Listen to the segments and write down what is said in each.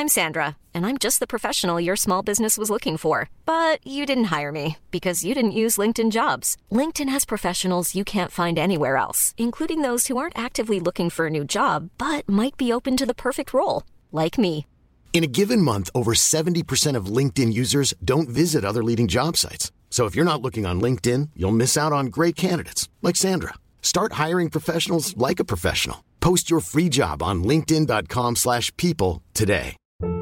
I'm Sandra, and I'm just the professional your small business was looking for. But you didn't hire me because you didn't use LinkedIn Jobs. LinkedIn has professionals you can't find anywhere else, including those who aren't actively looking for a new job, but might be open to the perfect role, like me. In a given month, over 70% of LinkedIn users don't visit other leading job sites. So if you're not looking on LinkedIn, you'll miss out on great candidates like Sandra. Start hiring professionals like a professional. Post your free job on linkedin.com/people today.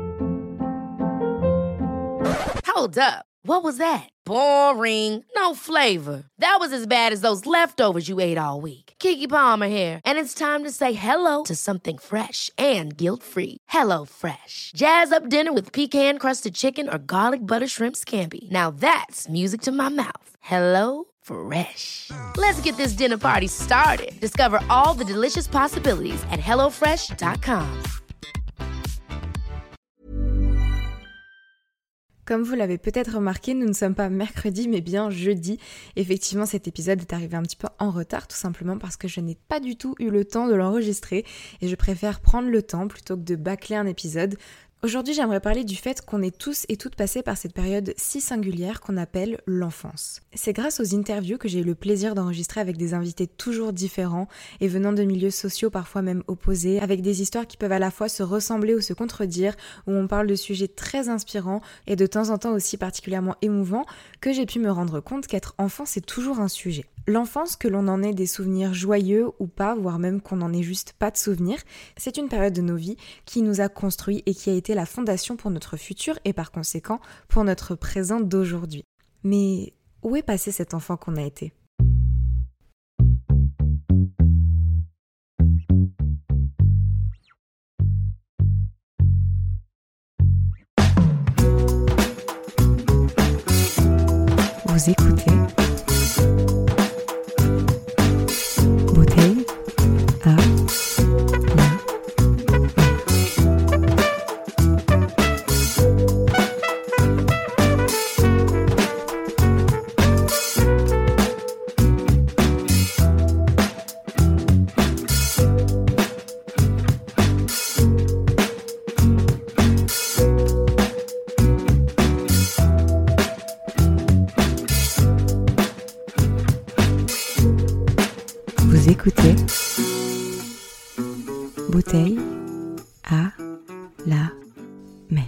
Hold up. What was that? Boring. No flavor. That was as bad as those leftovers you ate all week. Keke Palmer here, and it's time to say hello to something fresh and guilt-free. Hello Fresh. Jazz up dinner with pecan-crusted chicken or garlic butter shrimp scampi. Now that's music to my mouth. Hello Fresh. Let's get this dinner party started. Discover all the delicious possibilities at hellofresh.com. Comme vous l'avez peut-être remarqué, nous ne sommes pas mercredi mais bien jeudi. Effectivement, cet épisode est arrivé un petit peu en retard, tout simplement parce que je n'ai pas du tout eu le temps de l'enregistrer et je préfère prendre le temps plutôt que de bâcler un épisode. Aujourd'hui, j'aimerais parler du fait qu'on est tous et toutes passés par cette période si singulière qu'on appelle l'enfance. C'est grâce aux interviews que j'ai eu le plaisir d'enregistrer avec des invités toujours différents et venant de milieux sociaux parfois même opposés, avec des histoires qui peuvent à la fois se ressembler ou se contredire, où on parle de sujets très inspirants et de temps en temps aussi particulièrement émouvants, que j'ai pu me rendre compte qu'être enfant, c'est toujours un sujet. L'enfance, que l'on en ait des souvenirs joyeux ou pas, voire même qu'on n'en ait juste pas de souvenirs, c'est une période de nos vies qui nous a construits et qui a été la fondation pour notre futur et par conséquent pour notre présent d'aujourd'hui. Mais où est passé cet enfant qu'on a été ? Vous écoutez Bouteille à la Vous écoutez Bouteille à la mer.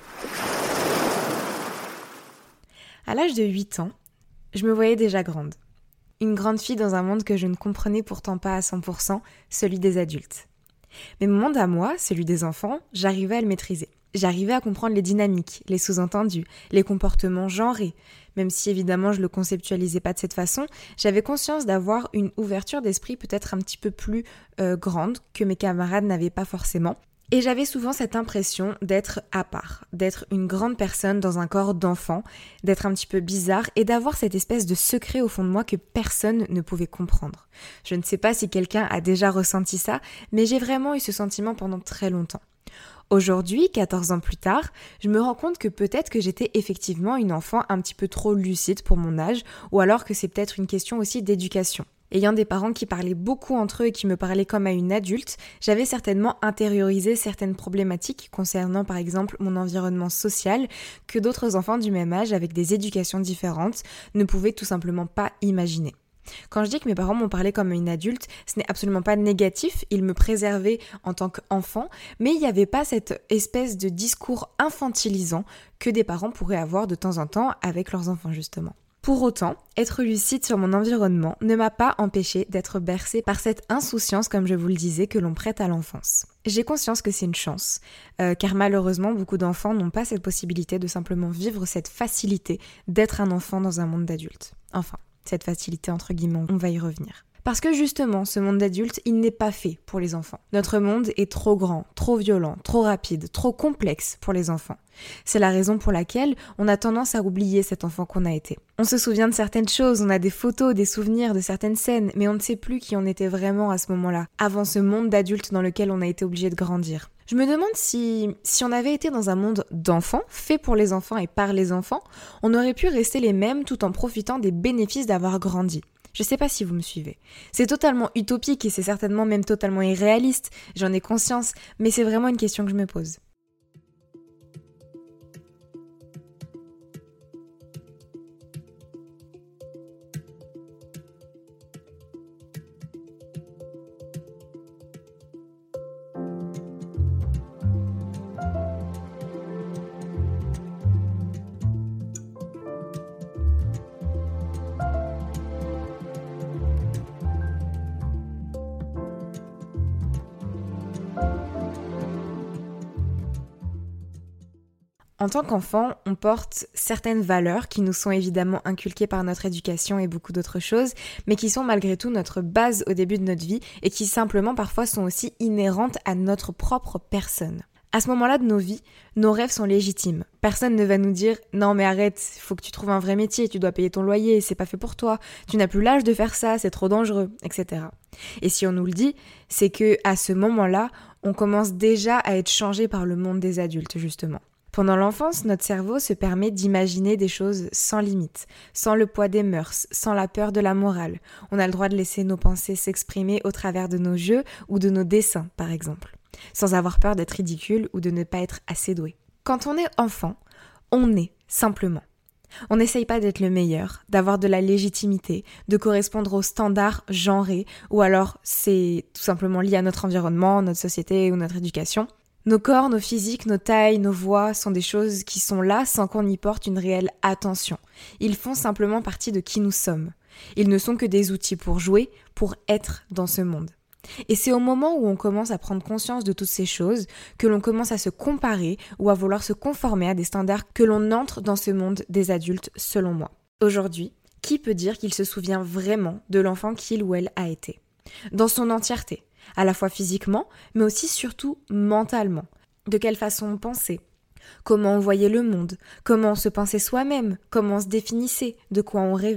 À l'âge de 8 ans, je me voyais déjà grande. Une grande fille dans un monde que je ne comprenais pourtant pas à 100%, celui des adultes. Mais mon monde à moi, celui des enfants, j'arrivais à le maîtriser. J'arrivais à comprendre les dynamiques, les sous-entendus, les comportements genrés. Même si évidemment je le conceptualisais pas de cette façon, j'avais conscience d'avoir une ouverture d'esprit peut-être un petit peu plus grande que mes camarades n'avaient pas forcément. Et j'avais souvent cette impression d'être à part, d'être une grande personne dans un corps d'enfant, d'être un petit peu bizarre et d'avoir cette espèce de secret au fond de moi que personne ne pouvait comprendre. Je ne sais pas si quelqu'un a déjà ressenti ça, mais j'ai vraiment eu ce sentiment pendant très longtemps. Aujourd'hui, 14 ans plus tard, je me rends compte que peut-être que j'étais effectivement une enfant un petit peu trop lucide pour mon âge, ou alors que c'est peut-être une question aussi d'éducation. Ayant des parents qui parlaient beaucoup entre eux et qui me parlaient comme à une adulte, j'avais certainement intériorisé certaines problématiques concernant par exemple mon environnement social que d'autres enfants du même âge avec des éducations différentes ne pouvaient tout simplement pas imaginer. Quand je dis que mes parents m'ont parlé comme une adulte, ce n'est absolument pas négatif, ils me préservaient en tant qu'enfant, mais il n'y avait pas cette espèce de discours infantilisant que des parents pourraient avoir de temps en temps avec leurs enfants justement. Pour autant, être lucide sur mon environnement ne m'a pas empêché d'être bercée par cette insouciance, comme je vous le disais, que l'on prête à l'enfance. J'ai conscience que c'est une chance, car malheureusement, beaucoup d'enfants n'ont pas cette possibilité de simplement vivre cette facilité d'être un enfant dans un monde d'adultes. Enfin, cette facilité entre guillemets, on va y revenir. Parce que justement, ce monde d'adulte, il n'est pas fait pour les enfants. Notre monde est trop grand, trop violent, trop rapide, trop complexe pour les enfants. C'est la raison pour laquelle on a tendance à oublier cet enfant qu'on a été. On se souvient de certaines choses, on a des photos, des souvenirs de certaines scènes, mais on ne sait plus qui on était vraiment à ce moment-là, avant ce monde d'adulte dans lequel on a été obligé de grandir. Je me demande si on avait été dans un monde d'enfants, fait pour les enfants et par les enfants, on aurait pu rester les mêmes tout en profitant des bénéfices d'avoir grandi. Je sais pas si vous me suivez. C'est totalement utopique et c'est certainement même totalement irréaliste, j'en ai conscience, mais c'est vraiment une question que je me pose. En tant qu'enfant, on porte certaines valeurs qui nous sont évidemment inculquées par notre éducation et beaucoup d'autres choses, mais qui sont malgré tout notre base au début de notre vie et qui simplement parfois sont aussi inhérentes à notre propre personne. À ce moment-là de nos vies, nos rêves sont légitimes. Personne ne va nous dire « Non mais arrête, il faut que tu trouves un vrai métier, tu dois payer ton loyer, c'est pas fait pour toi, tu n'as plus l'âge de faire ça, c'est trop dangereux, etc. » Et si on nous le dit, c'est que à ce moment-là, on commence déjà à être changé par le monde des adultes justement. Pendant l'enfance, notre cerveau se permet d'imaginer des choses sans limite, sans le poids des mœurs, sans la peur de la morale. On a le droit de laisser nos pensées s'exprimer au travers de nos jeux ou de nos dessins, par exemple, sans avoir peur d'être ridicule ou de ne pas être assez doué. Quand on est enfant, on est simplement. On n'essaye pas d'être le meilleur, d'avoir de la légitimité, de correspondre aux standards genrés, ou alors c'est tout simplement lié à notre environnement, notre société ou notre éducation. Nos corps, nos physiques, nos tailles, nos voix sont des choses qui sont là sans qu'on y porte une réelle attention. Ils font simplement partie de qui nous sommes. Ils ne sont que des outils pour jouer, pour être dans ce monde. Et c'est au moment où on commence à prendre conscience de toutes ces choses que l'on commence à se comparer ou à vouloir se conformer à des standards que l'on entre dans ce monde des adultes, selon moi. Aujourd'hui, qui peut dire qu'il se souvient vraiment de l'enfant qu'il ou elle a été ? Dans son entièreté, à la fois physiquement, mais aussi surtout mentalement. De quelle façon on pensait ? Comment on voyait le monde ? Comment on se pensait soi-même ? Comment on se définissait ? De quoi on rêvait ?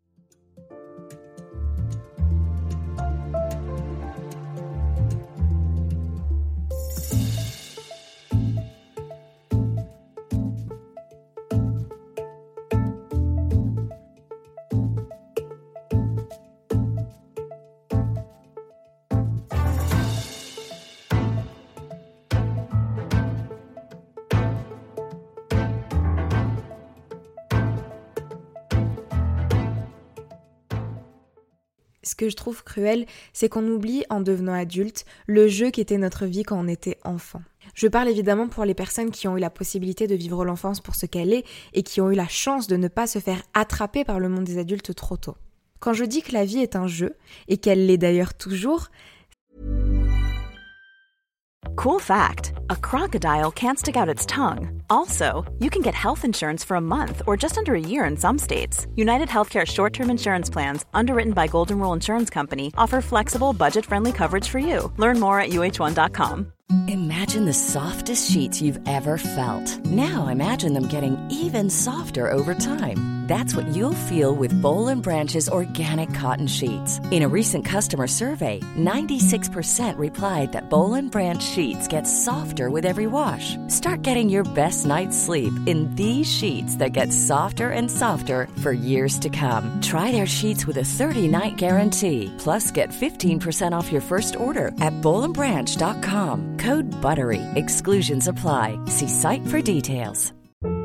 Ce que je trouve cruel, c'est qu'on oublie en devenant adulte le jeu qui était notre vie quand on était enfant. Je parle évidemment pour les personnes qui ont eu la possibilité de vivre l'enfance pour ce qu'elle est et qui ont eu la chance de ne pas se faire attraper par le monde des adultes trop tôt. Quand je dis que la vie est un jeu, et qu'elle l'est d'ailleurs toujours, Cool fact, a crocodile can't stick out its tongue. Also, you can get health insurance for a month or just under a year in some states. United Healthcare short-term insurance plans, underwritten by Golden Rule Insurance Company, offer flexible, budget-friendly coverage for you. Learn more at uh1.com. Imagine the softest sheets you've ever felt. Now imagine them getting even softer over time. That's what you'll feel with Boll & Branch's organic cotton sheets. In a recent customer survey, 96% replied that Boll & Branch sheets get softer with every wash. Start getting your best night's sleep in these sheets that get softer and softer for years to come. Try their sheets with a 30-night guarantee. Plus, get 15% off your first order at bollandbranch.com. Code BUTTERY. Exclusions apply. See site for details.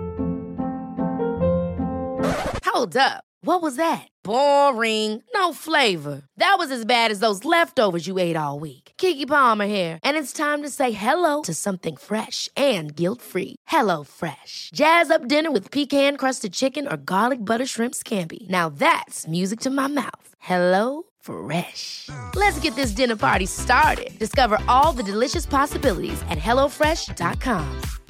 Hold up. What was that? Boring. No flavor. That was as bad as those leftovers you ate all week. Keke Palmer here, and it's time to say hello to something fresh and guilt-free. Hello Fresh. Jazz up dinner with pecan-crusted chicken or garlic butter shrimp scampi. Now that's music to my mouth. Hello Fresh. Let's get this dinner party started. Discover all the delicious possibilities at hellofresh.com.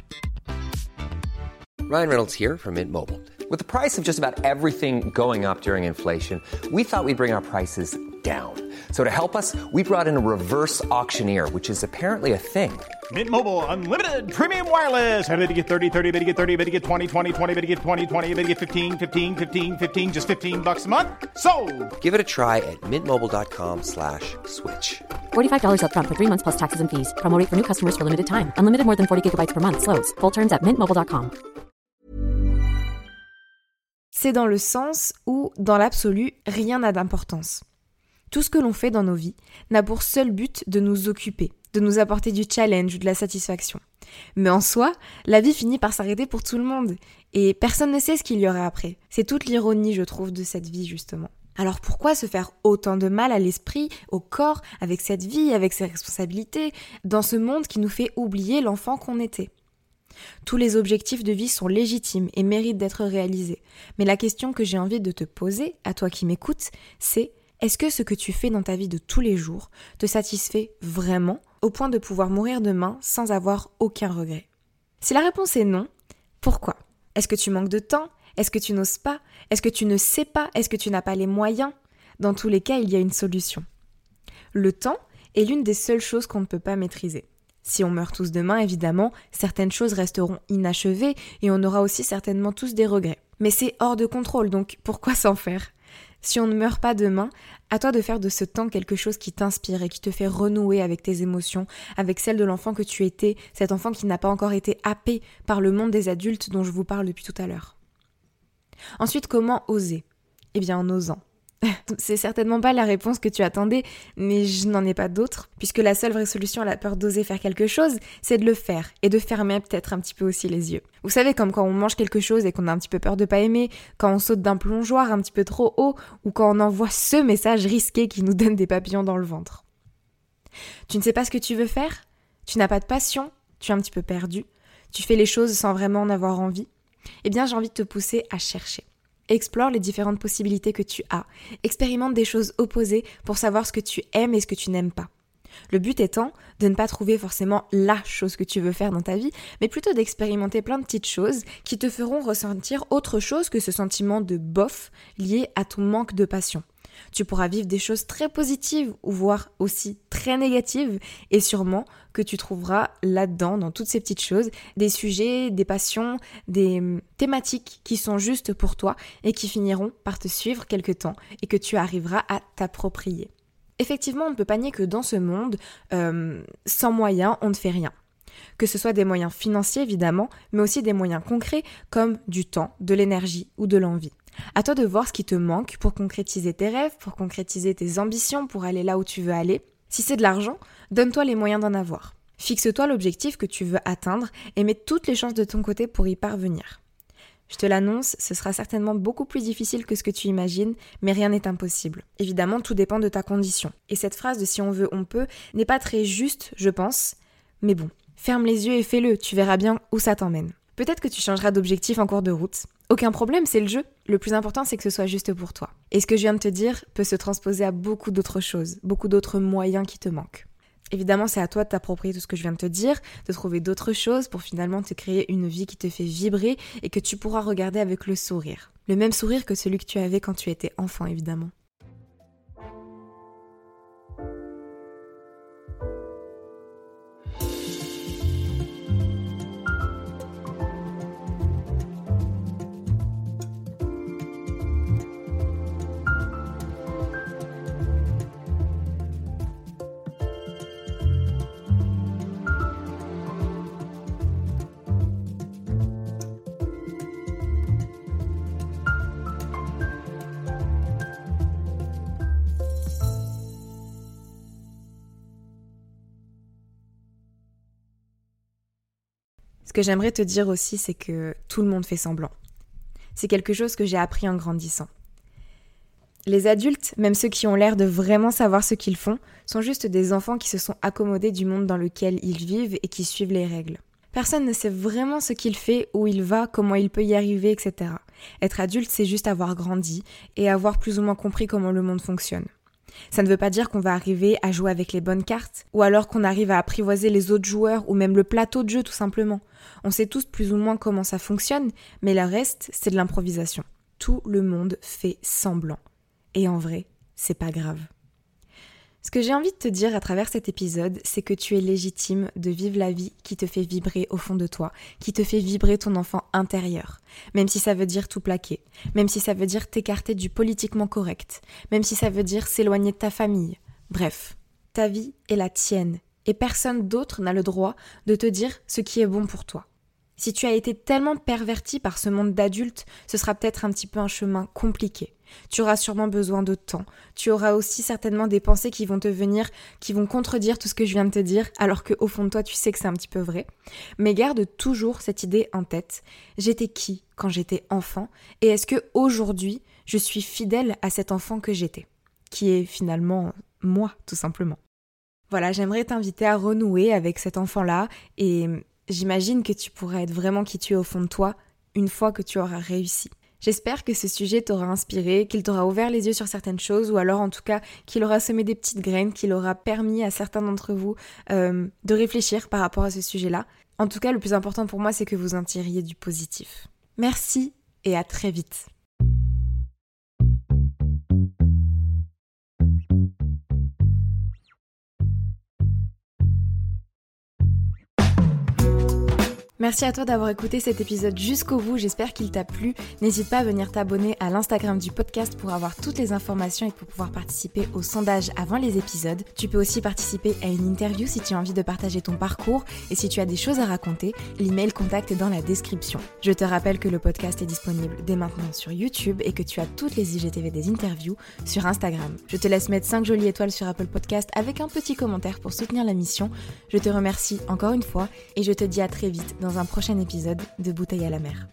Ryan Reynolds here from Mint Mobile. With the price of just about everything going up during inflation, we thought we'd bring our prices down. So to help us, we brought in a reverse auctioneer, which is apparently a thing. Mint Mobile Unlimited Premium Wireless. How to get 30, 30, how to get 30, how to get 20, 20, 20, how to get 20, 20, how to get 15, 15, 15, 15, just $15 a month? Sold! Give it a try at mintmobile.com/switch. $45 up front for 3 months plus taxes and fees. Promo rate for new customers for limited time. Unlimited more than 40 gigabytes per month. Slows full terms at mintmobile.com. c'est dans le sens où, dans l'absolu, rien n'a d'importance. Tout ce que l'on fait dans nos vies n'a pour seul but de nous occuper, de nous apporter du challenge ou de la satisfaction. Mais en soi, la vie finit par s'arrêter pour tout le monde. Et personne ne sait ce qu'il y aura après. C'est toute l'ironie, je trouve, de cette vie, justement. Alors pourquoi se faire autant de mal à l'esprit, au corps, avec cette vie, avec ses responsabilités, dans ce monde qui nous fait oublier l'enfant qu'on était ? Tous les objectifs de vie sont légitimes et méritent d'être réalisés. Mais la question que j'ai envie de te poser, à toi qui m'écoutes, c'est: est-ce que ce que tu fais dans ta vie de tous les jours te satisfait vraiment, au point de pouvoir mourir demain sans avoir aucun regret ? Si la réponse est non, Pourquoi ? Est-ce que tu manques de temps ? Est-ce que tu n'oses pas ? Est-ce que tu ne sais pas ? Est-ce que tu n'as pas les moyens ? Dans tous les cas, il y a une solution. Le temps est l'une des seules choses qu'on ne peut pas maîtriser. Si on meurt tous demain, évidemment, certaines choses resteront inachevées et on aura aussi certainement tous des regrets. Mais c'est hors de contrôle, donc pourquoi s'en faire ? Si on ne meurt pas demain, à toi de faire de ce temps quelque chose qui t'inspire et qui te fait renouer avec tes émotions, avec celles de l'enfant que tu étais, cet enfant qui n'a pas encore été happé par le monde des adultes dont je vous parle depuis tout à l'heure. Ensuite, comment oser ? Eh bien, en osant. C'est certainement pas la réponse que tu attendais, mais je n'en ai pas d'autre, puisque la seule vraie solution à la peur d'oser faire quelque chose, c'est de le faire, et de fermer peut-être un petit peu aussi les yeux. Vous savez, comme quand on mange quelque chose et qu'on a un petit peu peur de pas aimer, quand on saute d'un plongeoir un petit peu trop haut, ou quand on envoie ce message risqué qui nous donne des papillons dans le ventre. Tu ne sais pas ce que tu veux faire ? Tu n'as pas de passion ? Tu es un petit peu perdu ? Tu fais les choses sans vraiment en avoir envie ? Eh bien, j'ai envie de te pousser à chercher. Explore les différentes possibilités que tu as. Expérimente des choses opposées pour savoir ce que tu aimes et ce que tu n'aimes pas. Le but étant de ne pas trouver forcément la chose que tu veux faire dans ta vie, mais plutôt d'expérimenter plein de petites choses qui te feront ressentir autre chose que ce sentiment de bof lié à ton manque de passion. Tu pourras vivre des choses très positives ou voire aussi très négatives et sûrement que tu trouveras là-dedans, dans toutes ces petites choses, des sujets, des passions, des thématiques qui sont justes pour toi et qui finiront par te suivre quelque temps et que tu arriveras à t'approprier. Effectivement, on ne peut pas nier que dans ce monde, sans moyens, on ne fait rien. Que ce soit des moyens financiers évidemment, mais aussi des moyens concrets comme du temps, de l'énergie ou de l'envie. À toi de voir ce qui te manque pour concrétiser tes rêves, pour concrétiser tes ambitions, pour aller là où tu veux aller. Si c'est de l'argent, donne-toi les moyens d'en avoir. Fixe-toi l'objectif que tu veux atteindre et mets toutes les chances de ton côté pour y parvenir. Je te l'annonce, ce sera certainement beaucoup plus difficile que ce que tu imagines, mais rien n'est impossible. Évidemment, tout dépend de ta condition. Et cette phrase de « si on veut, on peut » n'est pas très juste, je pense, mais bon. Ferme les yeux et fais-le, tu verras bien où ça t'emmène. Peut-être que tu changeras d'objectif en cours de route. Aucun problème, c'est le jeu. Le plus important, c'est que ce soit juste pour toi. Et ce que je viens de te dire peut se transposer à beaucoup d'autres choses, beaucoup d'autres moyens qui te manquent. Évidemment, c'est à toi de t'approprier tout ce que je viens de te dire, de trouver d'autres choses pour finalement te créer une vie qui te fait vibrer et que tu pourras regarder avec le sourire. Le même sourire que celui que tu avais quand tu étais enfant, évidemment. Ce que j'aimerais te dire aussi, c'est que tout le monde fait semblant. C'est quelque chose que j'ai appris en grandissant. Les adultes, même ceux qui ont l'air de vraiment savoir ce qu'ils font, sont juste des enfants qui se sont accommodés du monde dans lequel ils vivent et qui suivent les règles. Personne ne sait vraiment ce qu'il fait, où il va, comment il peut y arriver, etc. Être adulte, c'est juste avoir grandi et avoir plus ou moins compris comment le monde fonctionne. Ça ne veut pas dire qu'on va arriver à jouer avec les bonnes cartes, ou alors qu'on arrive à apprivoiser les autres joueurs, ou même le plateau de jeu tout simplement. On sait tous plus ou moins comment ça fonctionne, mais le reste, c'est de l'improvisation. Tout le monde fait semblant. Et en vrai, c'est pas grave. Ce que j'ai envie de te dire à travers cet épisode, c'est que tu es légitime de vivre la vie qui te fait vibrer au fond de toi, qui te fait vibrer ton enfant intérieur. Même si ça veut dire tout plaquer, même si ça veut dire t'écarter du politiquement correct, même si ça veut dire s'éloigner de ta famille. Bref, ta vie est la tienne et personne d'autre n'a le droit de te dire ce qui est bon pour toi. Si tu as été tellement perverti par ce monde d'adultes, ce sera peut-être un petit peu un chemin compliqué. Tu auras sûrement besoin de temps. Tu auras aussi certainement des pensées qui vont te venir, qui vont contredire tout ce que je viens de te dire, alors qu'au fond de toi, tu sais que c'est un petit peu vrai. Mais garde toujours cette idée en tête. J'étais qui quand j'étais enfant ? Et est-ce que aujourd'hui, je suis fidèle à cet enfant que j'étais ? Qui est finalement moi, tout simplement. Voilà, j'aimerais t'inviter à renouer avec cet enfant-là et j'imagine que tu pourras être vraiment qui tu es au fond de toi une fois que tu auras réussi. J'espère que ce sujet t'aura inspiré, qu'il t'aura ouvert les yeux sur certaines choses ou alors en tout cas qu'il aura semé des petites graines, qu'il aura permis à certains d'entre vous de réfléchir par rapport à ce sujet-là. En tout cas, le plus important pour moi, c'est que vous en tiriez du positif. Merci et à très vite. Merci à toi d'avoir écouté cet épisode jusqu'au bout, j'espère qu'il t'a plu. N'hésite pas à venir t'abonner à l'Instagram du podcast pour avoir toutes les informations et pour pouvoir participer au sondage avant les épisodes. Tu peux aussi participer à une interview si tu as envie de partager ton parcours et si tu as des choses à raconter, l'email contact est dans la description. Je te rappelle que le podcast est disponible dès maintenant sur YouTube et que tu as toutes les IGTV des interviews sur Instagram. Je te laisse mettre 5 jolies étoiles sur Apple Podcast avec un petit commentaire pour soutenir la mission. Je te remercie encore une fois et je te dis à très vite dans un prochain épisode de Bouteille à la mer.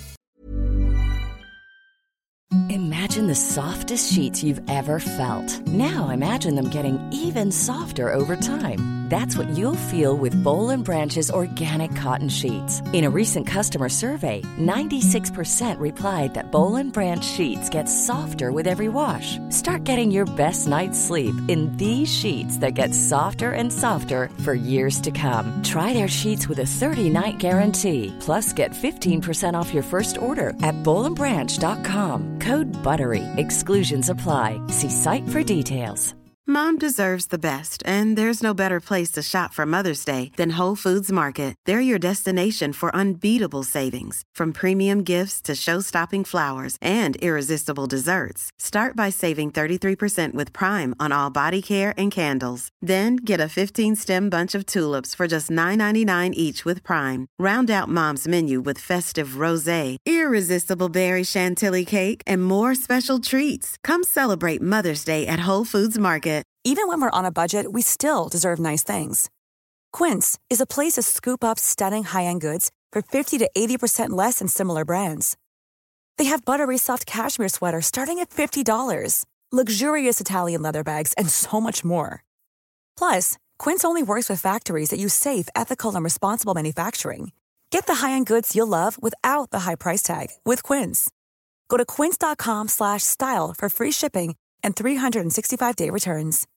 Imagine the softest sheets you've ever felt. Now imagine them getting even softer over time. That's what you'll feel with Boll & Branch's organic cotton sheets. In a recent customer survey, 96% replied that Boll & Branch sheets get softer with every wash. Start getting your best night's sleep in these sheets that get softer and softer for years to come. Try their sheets with a 30-night guarantee. Plus, get 15% off your first order at bollandbranch.com. Code BUTTERY. Exclusions apply. See site for details. Mom deserves the best, and there's no better place to shop for Mother's Day than Whole Foods Market. They're your destination for unbeatable savings, from premium gifts to show-stopping flowers and irresistible desserts. Start by saving 33% with Prime on all body care and candles. Then get a 15-stem bunch of tulips for just $9.99 each with Prime. Round out Mom's menu with festive rosé, irresistible berry chantilly cake, and more special treats. Come celebrate Mother's Day at Whole Foods Market. Even when we're on a budget, we still deserve nice things. Quince is a place to scoop up stunning high-end goods for 50 to 80% less than similar brands. They have buttery soft cashmere sweaters starting at $50, luxurious Italian leather bags, and so much more. Plus, Quince only works with factories that use safe, ethical, and responsible manufacturing. Get the high-end goods you'll love without the high price tag with Quince. Go to quince.com/style for free shipping and 365-day returns.